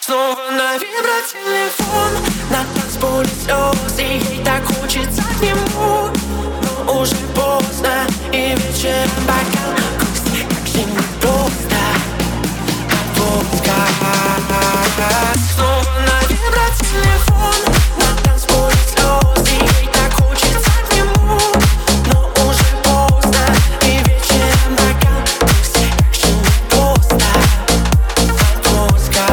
Снова на вибротелефон, на танцполе слез, и ей так хочется к нему. Но уже поздно, и вечером бокал грусти, как же непросто отпускать. Снова на вибротелефон, на танцполе слез, и ей так хочется к нему. Но уже поздно, и вечером бокал грусти, как же непросто отпускать.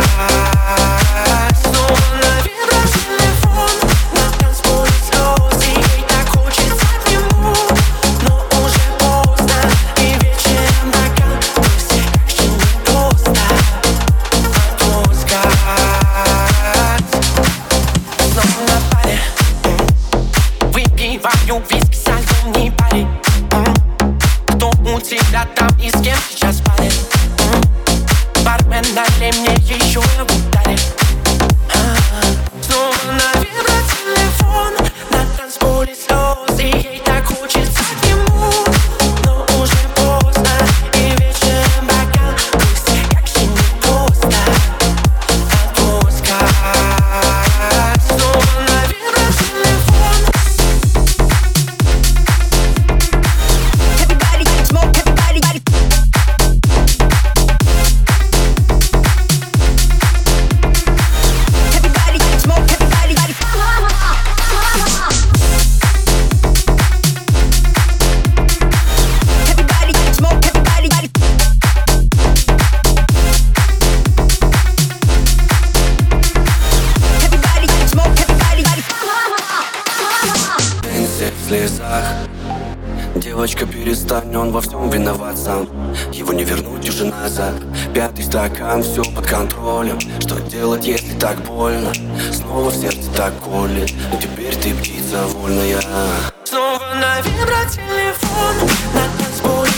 Снова на вибротелефон, на танцполе слез, и ей так хочется к нему. Но уже поздно, и вечером бокал грусти, как же непросто отпускать. Снова на паре, выпиваю виски со зимней пари. Кто у тебя там и с кем сейчас парит? Бармен, налей мне еще ударит. Снова на вибротелефон, на танцполе слез, и ей так хочется к нему. Но уже поздно, и вечером бокал грусти, как же непросто отпускать. Снова на вибротелефон. Everybody smoke, everybody. Everybody smoke, everybody. Everybody smoke, everybody. Everybody smoke, everybody. Пенсия в слезах. Девочка, перестань, он во всем виноват сам. Его не вернуть уже назад. Пятый стакан, все под контролем. Что делать, если так больно? Снова в сердце так колет. Но теперь ты птица вольная. Снова на вибротелефон, на танцполе